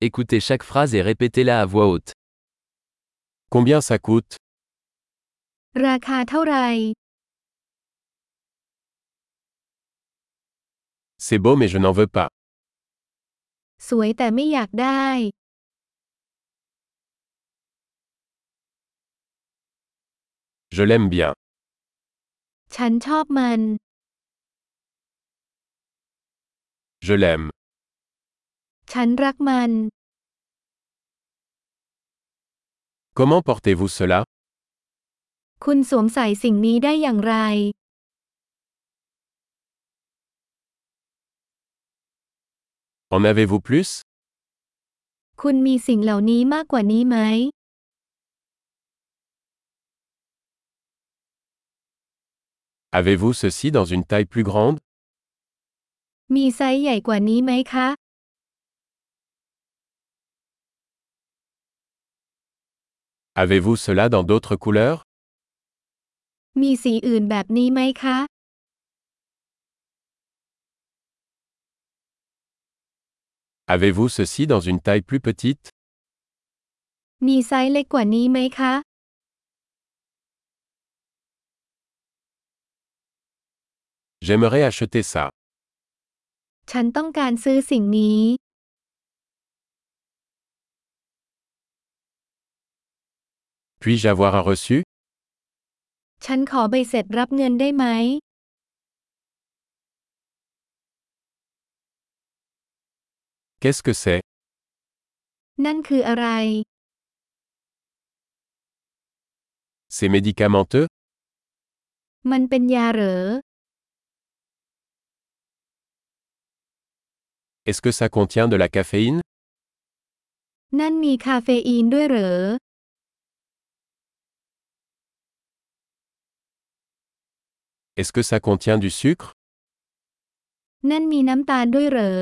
Écoutez chaque phrase et répétez-la à voix haute. Combien ça coûte? ราคาเท่าไหร่ C'est beau mais je n'en veux pas. สวยแต่ไม่อยากได้ Je l'aime bien. ฉันชอบมัน Je l'aime. ฉันรักมัน Comment portez-vous cela? คุณสวมใส่สิ่งนี้ได้อย่างไร En avez-vous plus? คุณมีสิ่งเหล่านี้มากกว่านี้ไหม Avez-vous ceci dans une taille plus grande? มีไซส์ใหญ่กว่านี้ไหมคะ Avez-vous cela dans d'autres couleurs? มีสีอื่นแบบนี้ไหมคะ Avez-vous ceci dans une taille plus petite? มีไซส์เล็กกว่านี้ไหมคะ J'aimerais acheter ça. ฉันต้องการซื้อสิ่งนี้ Puis-je avoir un reçu? ฉันขอใบเสร็จรับเงินได้ไหม Qu'est-ce que c'est? นั่นคืออะไร C'est médicamenteux? มันเป็นยาเหรอ Est-ce que ça contient de la caféine? นั่นมีคาเฟอีนด้วยเหรอ Est-ce que ça contient du sucre? นั่นมีน้ำตาลด้วยเหรอ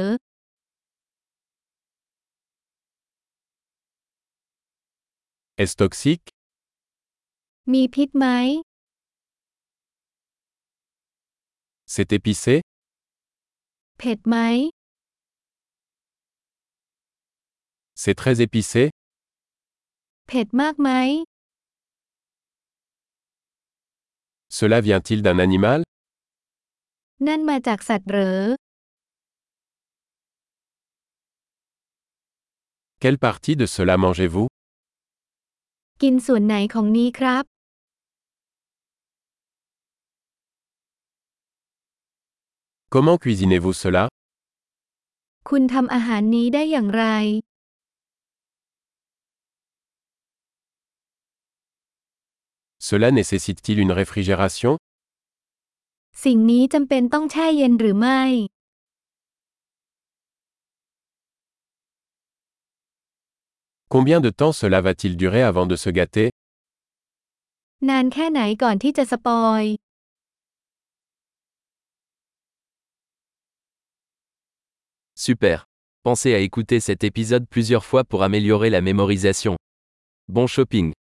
Est-ce toxique? มีพิษไหม C'est épicé? เผ็ดไหม C'est très épicé? เผ็ดมากไหม Cela vient-il d'un animal? นั่นมาจากสัตว์เหรอ Quelle partie de cela mangez-vous? กินส่วนไหนของนี้ครับ Comment cuisinez-vous cela? คุณทำอาหารนี้ได้อย่างไร Cela nécessite-t-il une réfrigération? สิ่งนี้จำเป็นต้องแช่เย็นหรือไม่ Combien de temps cela va-t-il durer avant de se gâter? นานแค่ไหนก่อนที่จะสปอย Super. Pensez à écouter cet épisode plusieurs fois pour améliorer la mémorisation. Bon shopping.